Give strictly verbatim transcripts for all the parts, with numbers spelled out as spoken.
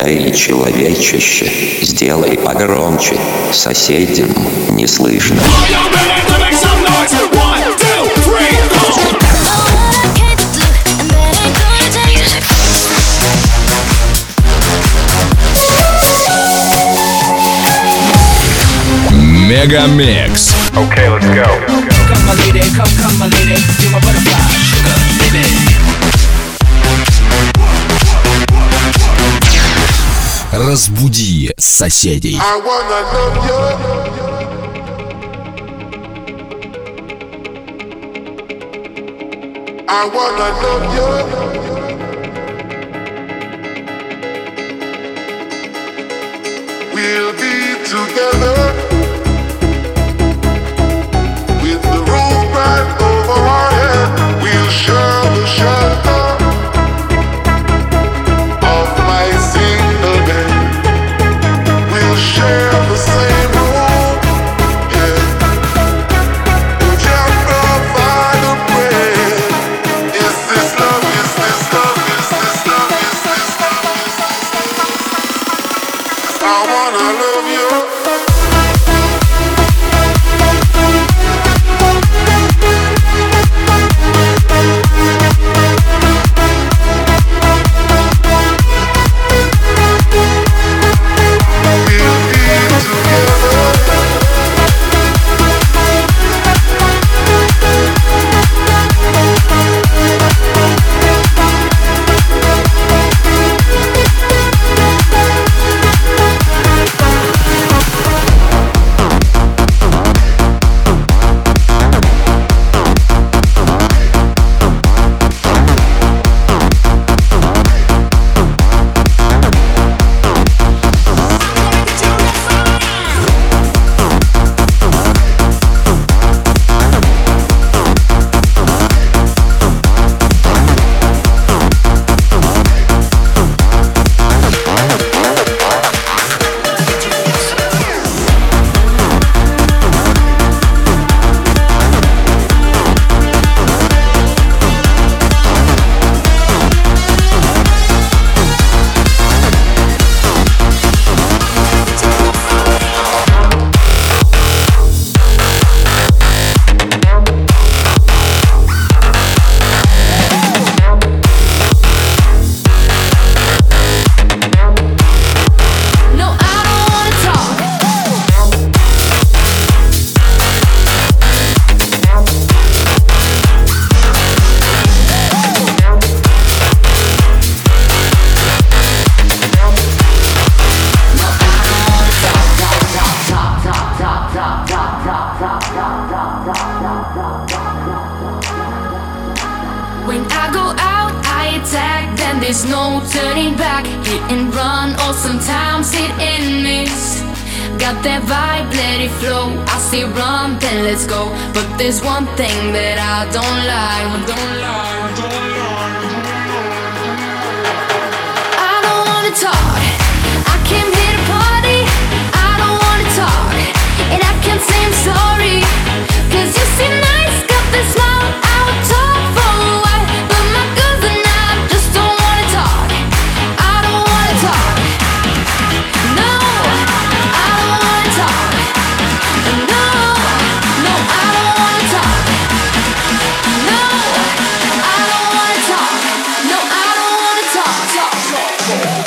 Эй, человечище, сделай погромче, соседям не слышно. Мегамикс. Okay, let's go. Come my lady, come, come my lady, you're my butterfly, sugar, baby. Разбуди соседей. I wanna love you. I wanna love you. We'll be together with the roof right over our head. We'll share the shelter of my single bed. We'll share the same room, yeah. We can provide a prayer. Is this love? Is this love? Is this love? Is this love? Is this love? I wanna love you. When I go out, I attack, then there's no turning back. Hit and run, or sometimes hit and miss. Got that vibe, let it flow. I say run, then let's go. But there's one thing that I don't like. Don't lie, don't lie, don't lie. I don't wanna talk. I came here to party. I don't wanna talk, and I can't say I'm sorry. Cause you seem nice, got this smile. I would talk for a while, but my girls and I just don't wanna talk. I don't wanna talk. No, I don't wanna talk. No, no, I don't wanna talk. No, I don't wanna talk. No, I don't wanna talk. Talk, talk, talk.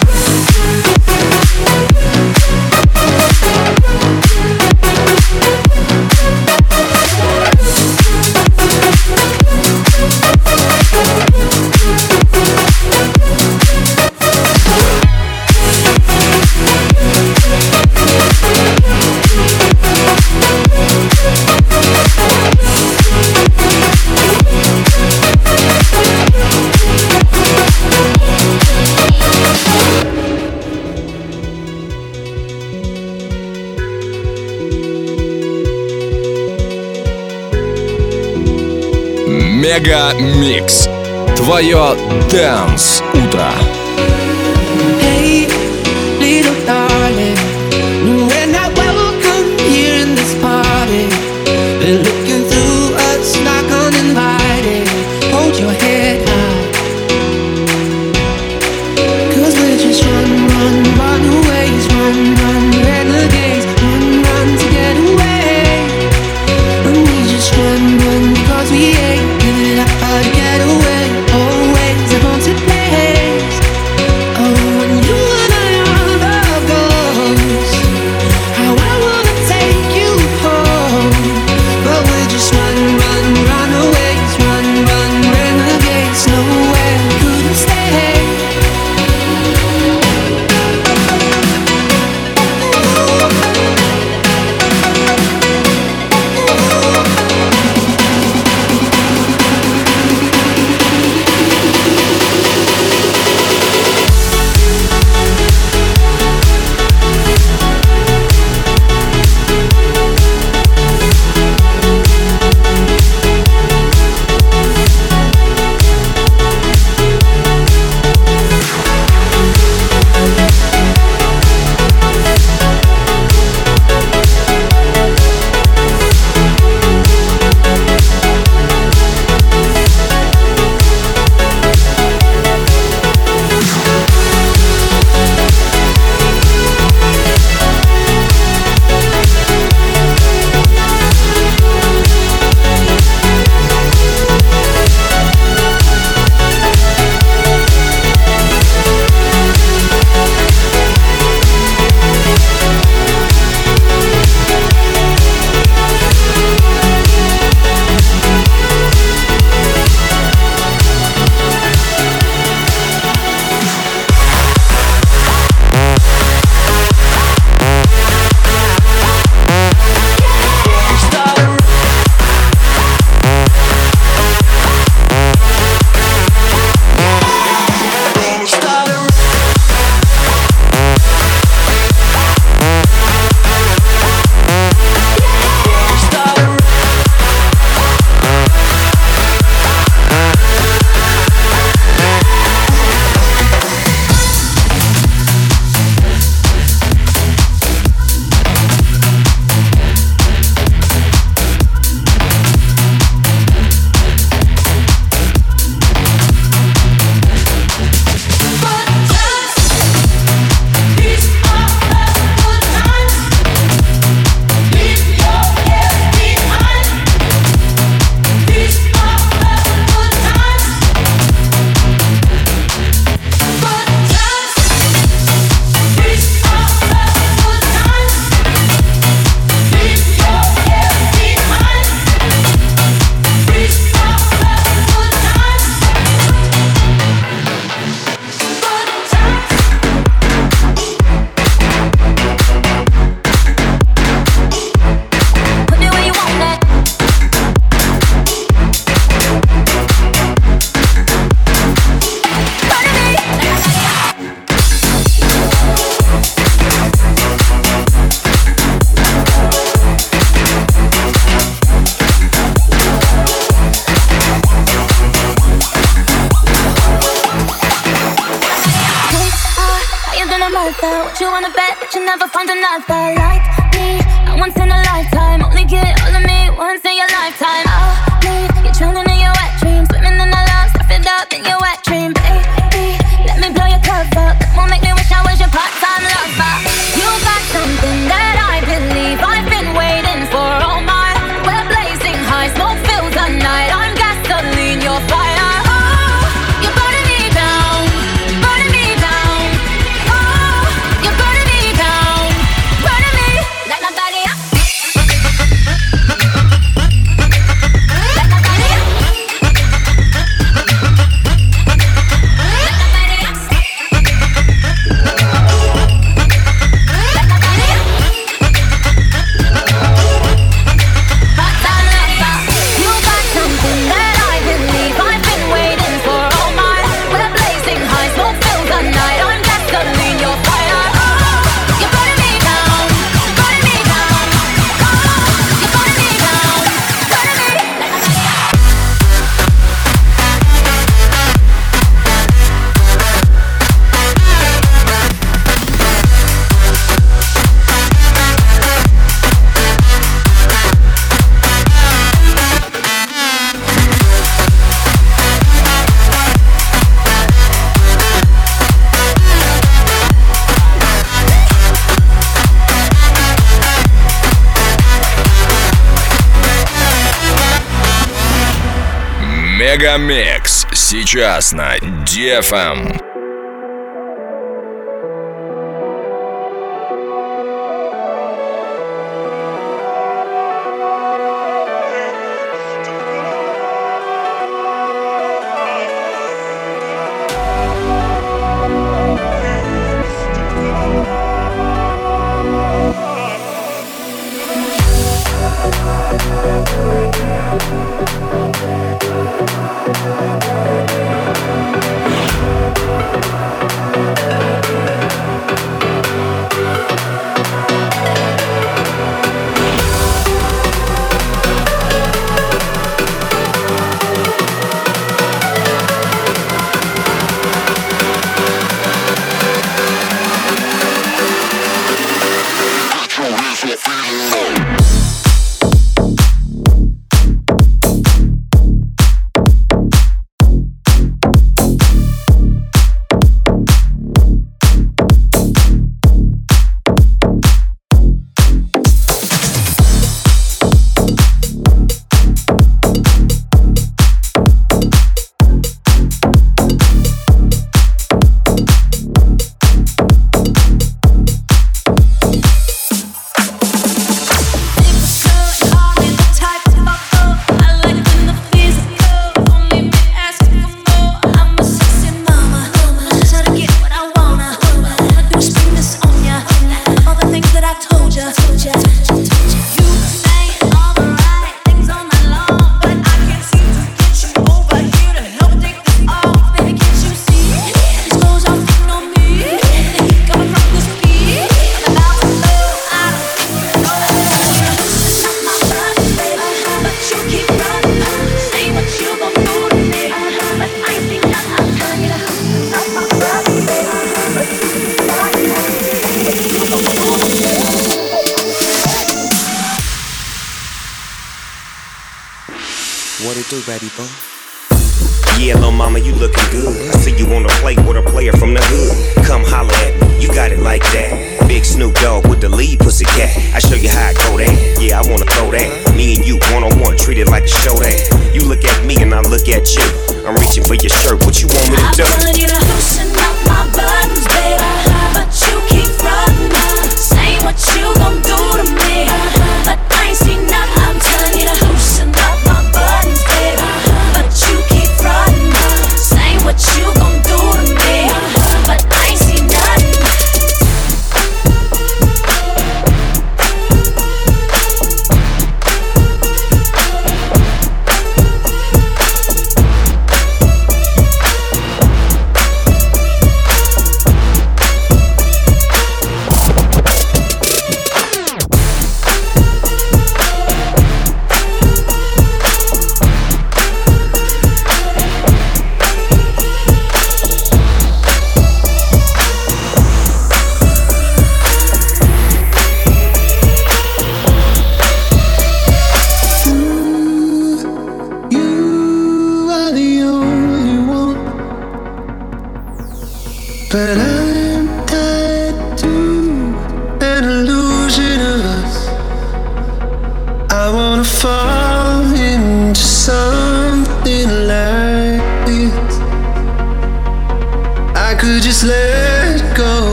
Мегамикс. Твое Dance утро. Hey, little darling, when I welcome you in this party, they're looking through us like uninvited. Hold your head high, cause we're just running your mother. What you wanna bet that you never find another like me? A once in a lifetime, only get all of me once in your lifetime. I'll leave you drowning in your wet dreams, swimming in the love, stuff it up in your wet dream, baby. Let me blow your cover, come on, make me wish I was your part-time lover. You got something that I believe I've been waiting for all my. We're blazing high, smoke fills the night. I'm gasoline, you're fire. Мегамикс сейчас на ди эф эм. What it do, baby boy? Yeah, little mama, you looking good. I see you on the plate with a player from the hood. Come holler at me, you got it like that. Big Snoop Dogg with the lead pussy cat. I show you how I go that. Yeah, I wanna throw that. Me and you, one on one, treat it like a show that. You look at me and I look at you. I'm reaching for your shirt, what you want me to do? I want you to loosen up my buttons, baby, but you keep running. Say what you gon' do to me, but I ain't seen nothing. I'm telling you to loosen up my buttons, baby, but you keep running. Say what you gon' do to me, but I ain't seen nothing.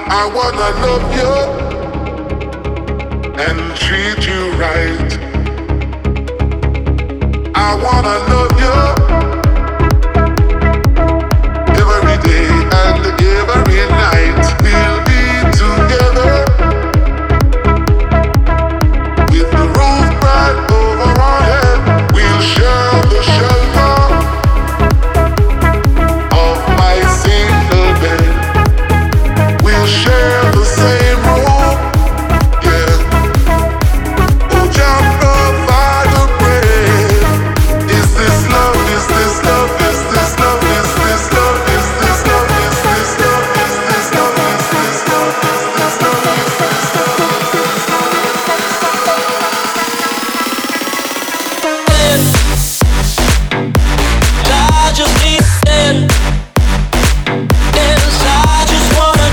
I wanna love you and treat you right. I wanna love you every day and every night. We'll be together with the roof right over our head. We'll share the shelter of my single bed. We'll share the same room, yeah. Oh, Jah provide the bread. Is this love? Is this love? Is this love? Is this love? Is this love? Is this love? Is this love? Is this love? Is this love? Is this I just need to stand. Yes, I just wanna.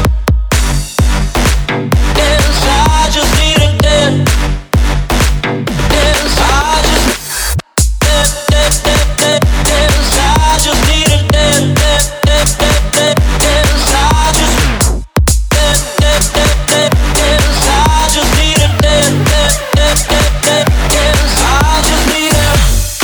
Yes, I just need a dance. Yes, I just. Yes, yes, yes, yes, I just need a dance. Yes, yes, yes, yes, I just. Yes, yes, yes, yes, I just need a dance. Yes, yes, yes, yes, I just need a.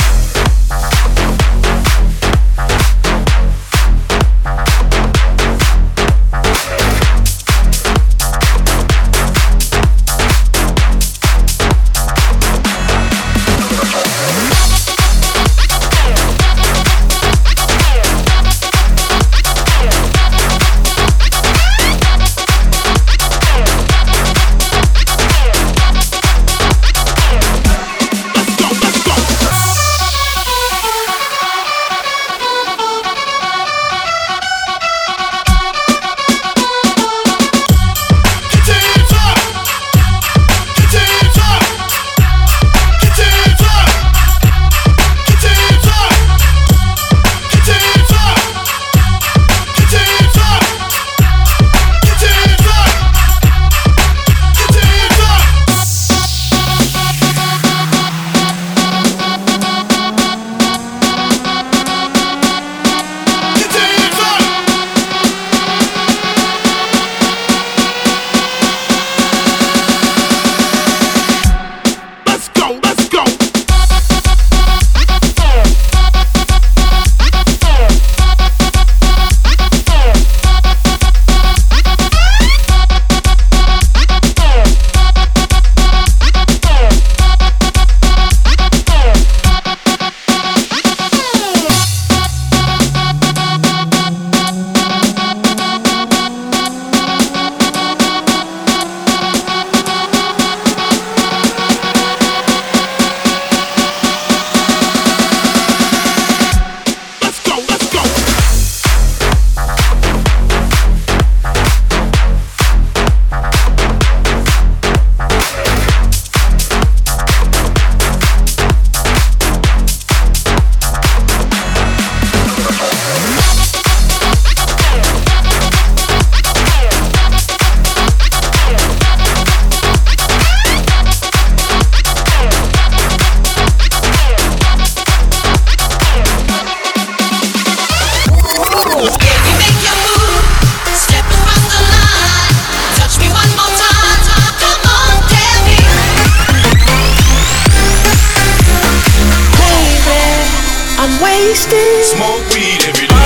Smoke weed every day.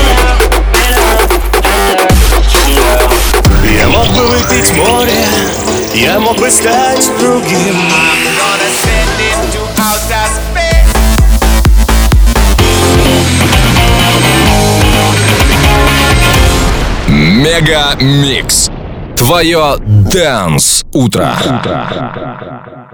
Я мог бы выпить море, я мог бы стать другим. Мега Микс. Твое Dance утро.